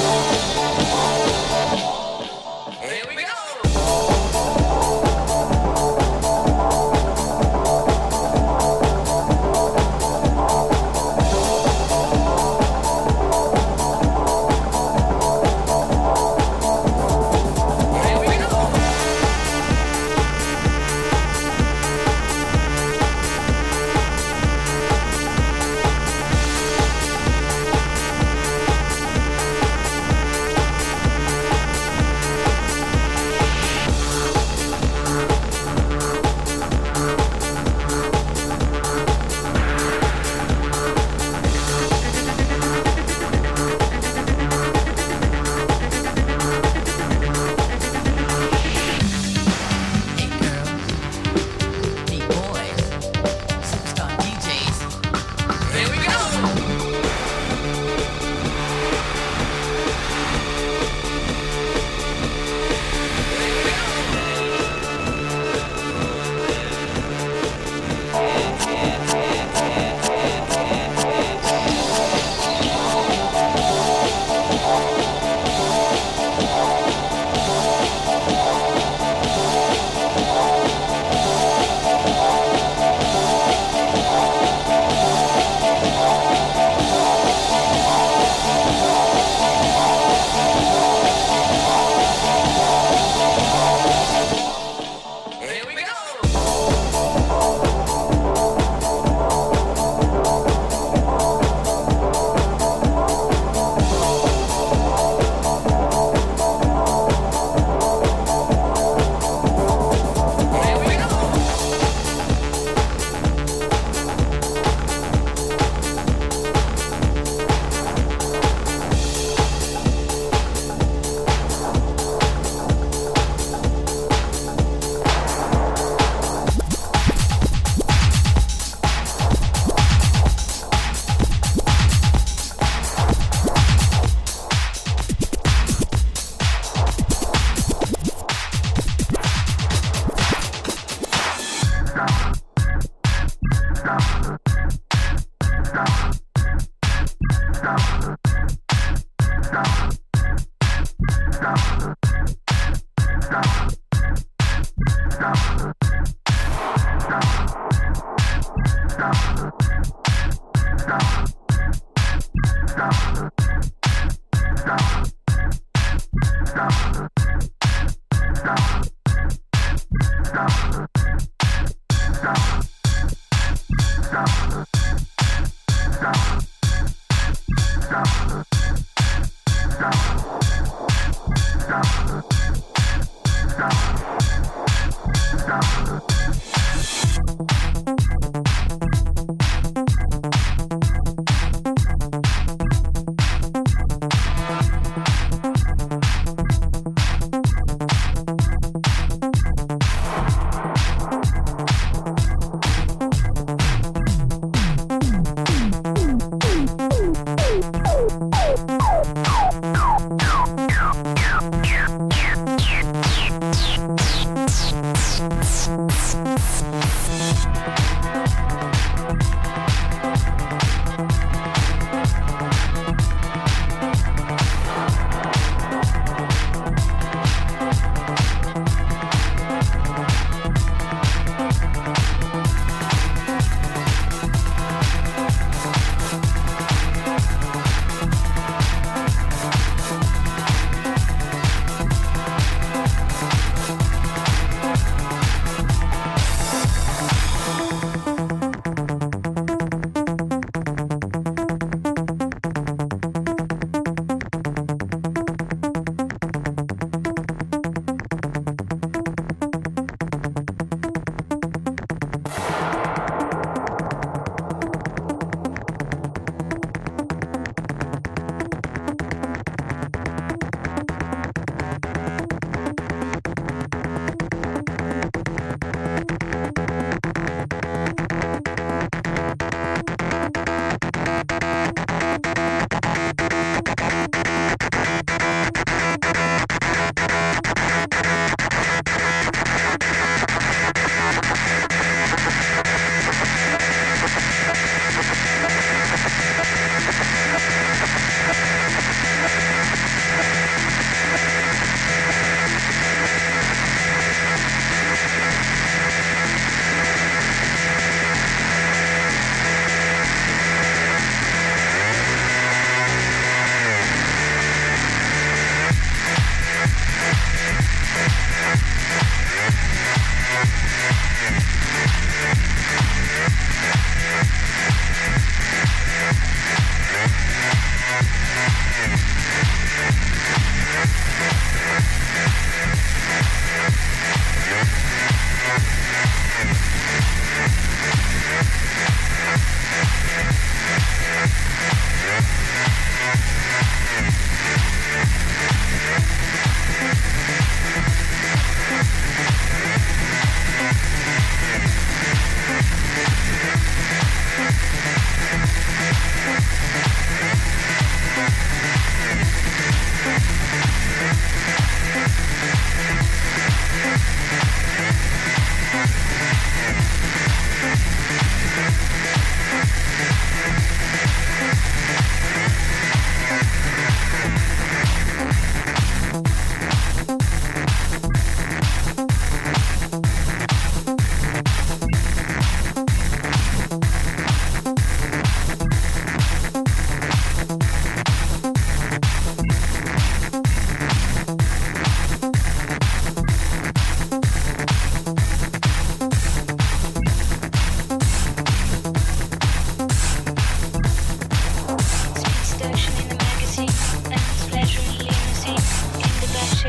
Here we go. Here we go.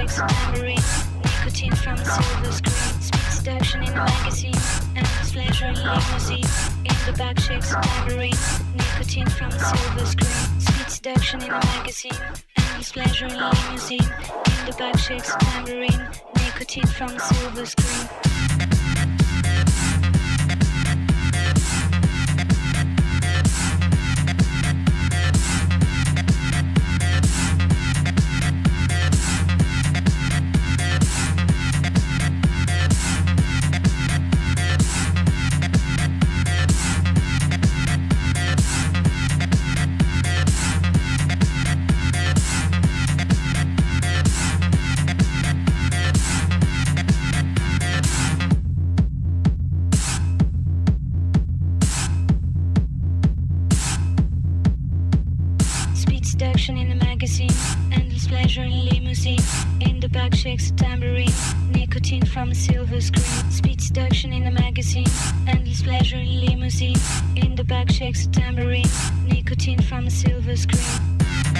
shakes, tambourine, nicotine from silver screen, speed seduction in a magazine, endless pleasure in limousine. In the back shakes, tambourine, nicotine from silver screen, speed seduction in a magazine, endless pleasure in limousine. In the back shakes, tambourine, nicotine from silver screen. In the magazine, endless pleasure in limousine. In the back shakes a tambourine, nicotine from a silver screen. Speed seduction in the magazine, endless pleasure in limousine. In the back shakes a tambourine, nicotine from a silver screen.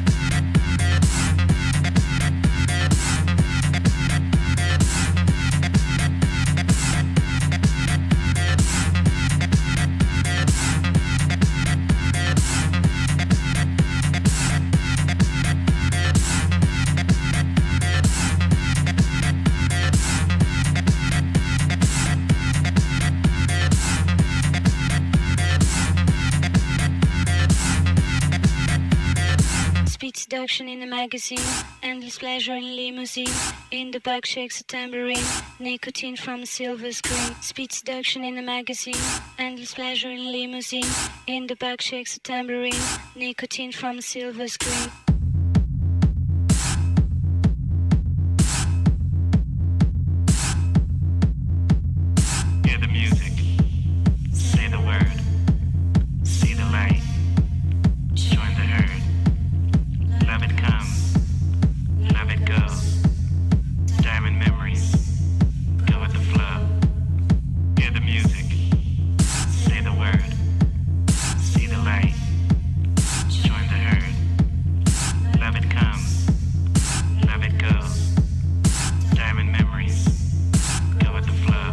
Seduction in the magazine, endless pleasure in limousine. In the back shakes a tambourine, nicotine from a silver screen. Speed seduction in the magazine, endless pleasure in limousine. In the back shakes a tambourine, nicotine from a silver screen. Hear the music, say the word, see the light, join the herd. Love it comes, love it goes. Diamond memories, go with the flow. Hear the music, say the word, see the light, join the herd. Love it comes, love it goes. Diamond memories, go with the flow.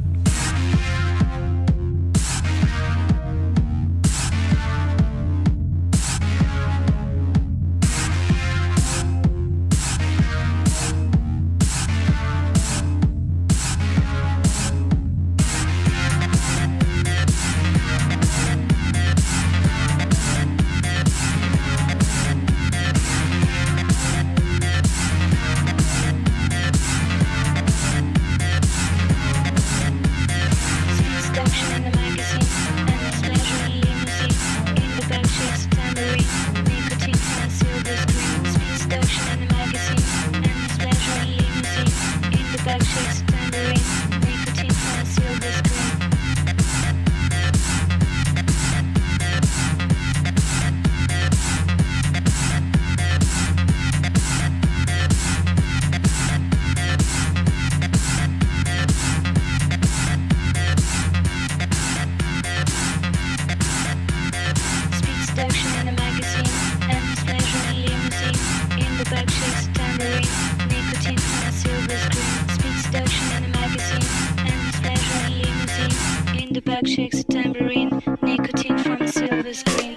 Shakes a tambourine, nicotine from a silver screen.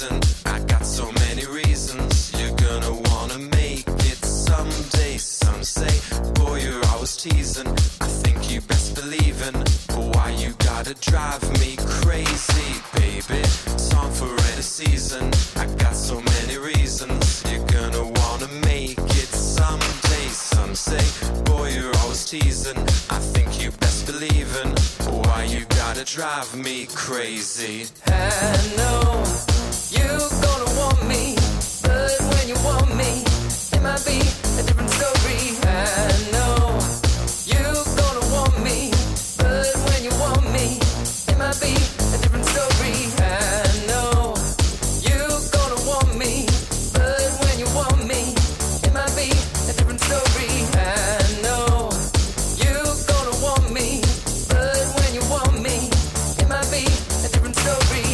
season. I got so many reasons. You're gonna wanna make it someday. Some say, boy, you're always teasing. I think you best believe in. Why you gotta drive me crazy, baby? Song for any season. I got so many reasons. You're gonna wanna make it someday. Some say, boy, you're always teasing. I think you best believe in. Why you gotta drive me crazy? I know you gonna want me, but when you want me, it might be a different story. I know you gonna want me, but when you want me, it might be a different story. I know you gonna want me, but when you want me, it might be a different story. I know you gonna want me, but when you want me, it might be a different story.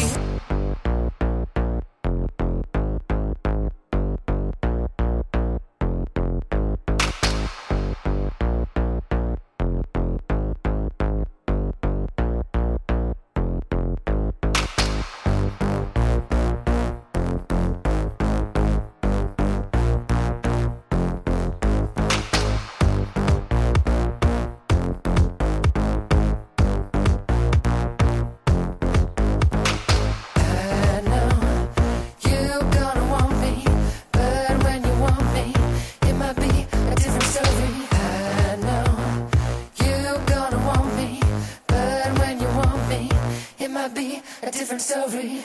I know you gonna want me, but when you want me, it might be a different story. I know you gonna want me, but when you want me, it might be a different story.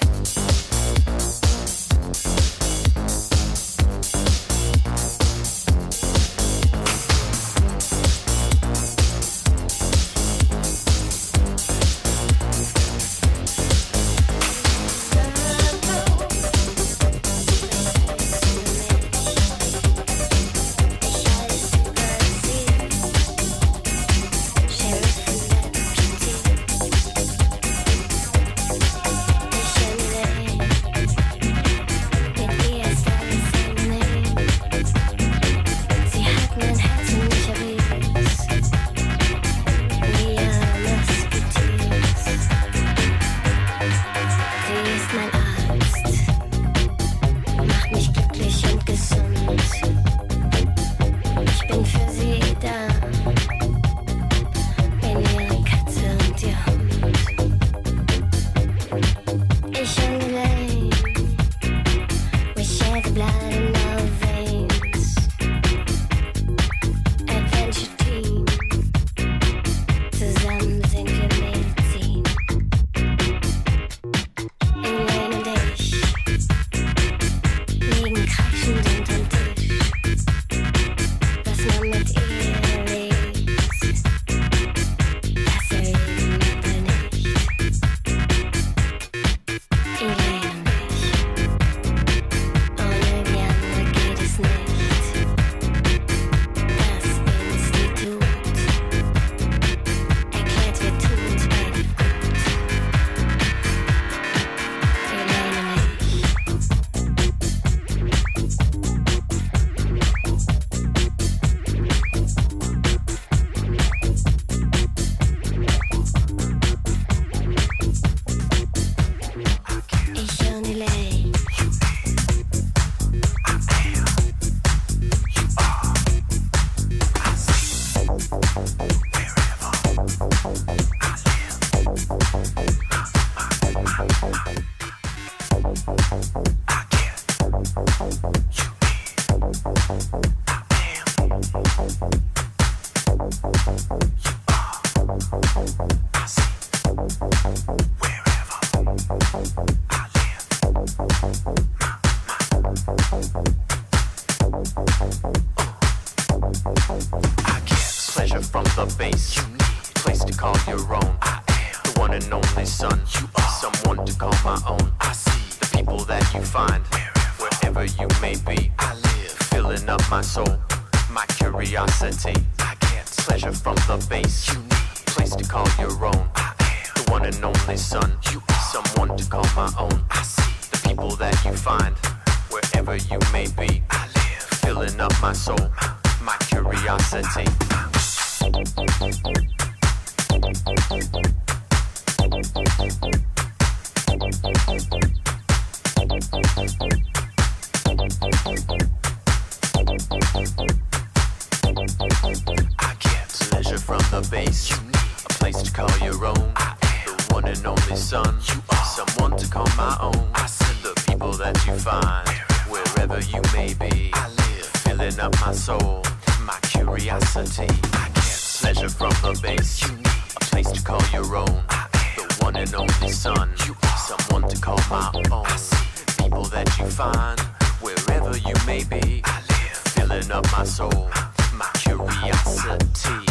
Pleasure from the base, place to call your own. The one and only son, someone to call my own. I see the people that you find wherever you may be. I live, filling up my soul, my curiosity. I get pleasure from the base, place to call your own. The one and only son, someone to call my own. I see the people that you find wherever you may be. I live, filling up my soul, my curiosity. only son. You are someone to call my own. I see the people that you find wherever you may be. I live, filling up my soul, my curiosity. I get pleasure from the base. You need a place to call your own. I am the one and only son. You are someone to call my own. I see people that you find wherever you may be. I live, filling up my soul, my curiosity.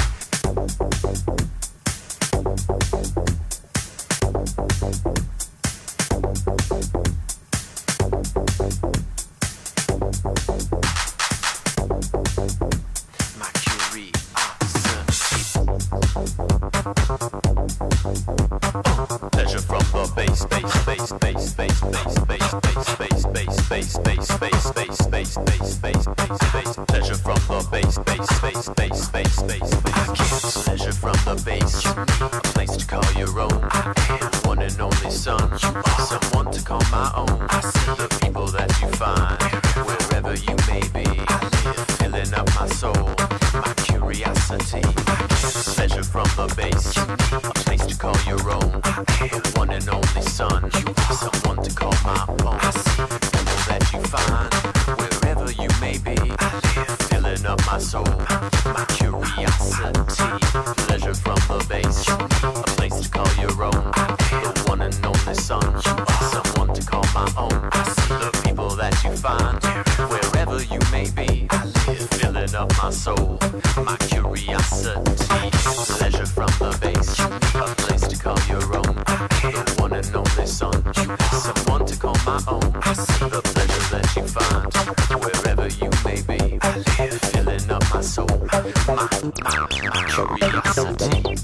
Pleasure from the bass, bass, bass, bass, bass, bass, bass, bass, bass, bass, bass, bass, bass, bass, bass, bass, bass, bass, bass. Pleasure from the bass, bass, bass, bass, bass, bass, bass. Pleasure from the bass. A place to call your own. The one and only son. Someone to call my own. I see the people that you find wherever you may be. Filling up my soul, my curiosity. Pleasure from the bass. A place to call your own. The one and only son. Someone to call my own. People that you find wherever you may be. Filling up my soul, my curiosity. Pleasure from the bass. A place to call your own. The one and only son. Someone to call my own. The people that you find wherever you may be. Filling up my soul, my curiosity. Pleasure from the bass. A place to call your own. The one and only son. Someone to call my own. The pleasure that you find wherever you may be. Filling up my soul, my curiosity.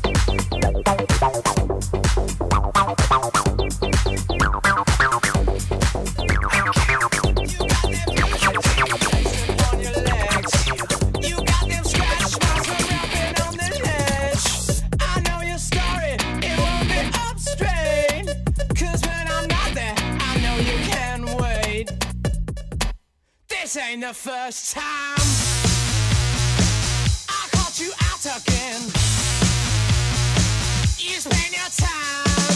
This ain't the first time I caught you out again. You spend your time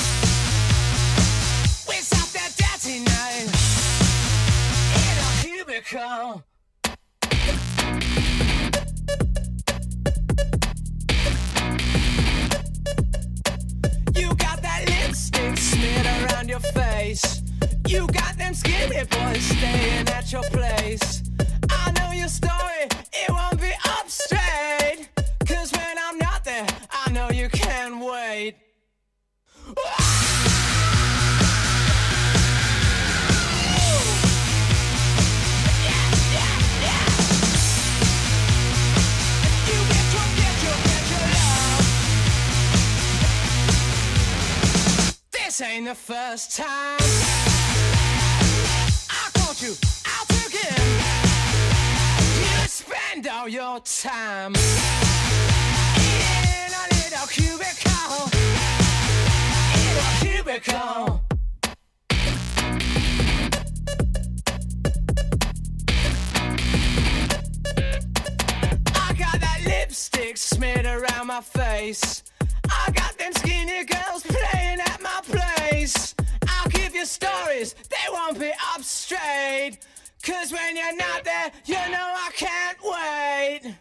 with something dirty night in a cubicle. You got that lipstick smeared around your face. You got them skinny boys staying at your place. I know your story, it won't be up straight. Cause when I'm not there, I know you can't wait. You get your love. This ain't the first time you out again. You spend all your time in a little cubicle. In a cubicle. I got that lipstick smeared around my face. I got them skinny girls playing at my place. I'll give you stories, they won't be up straight. Cause when you're not there, you know I can't wait.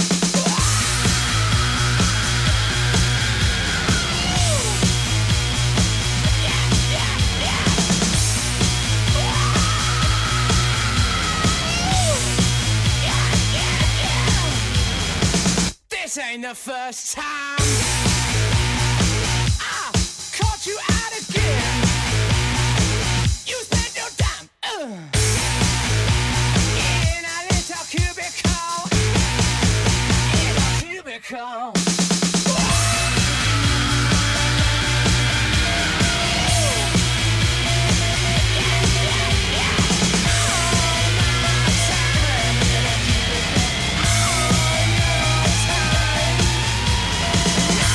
This ain't the first time I caught you out again. You spent your time in a little cubicle. In a cubicle. All my time.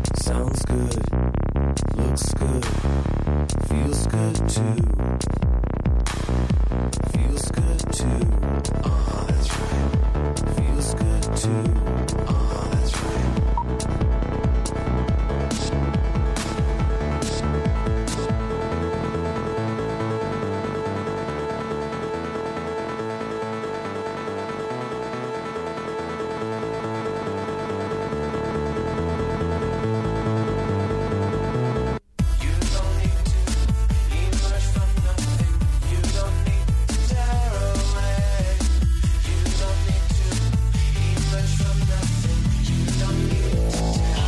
Sounds good, looks good, feels good too. Feels good too. That's right. Feels good too. That's right. You don't need to emerge from nothing. You don't need to tear away. You don't need to emerge from nothing. You don't need to tear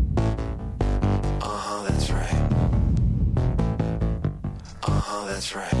that's right.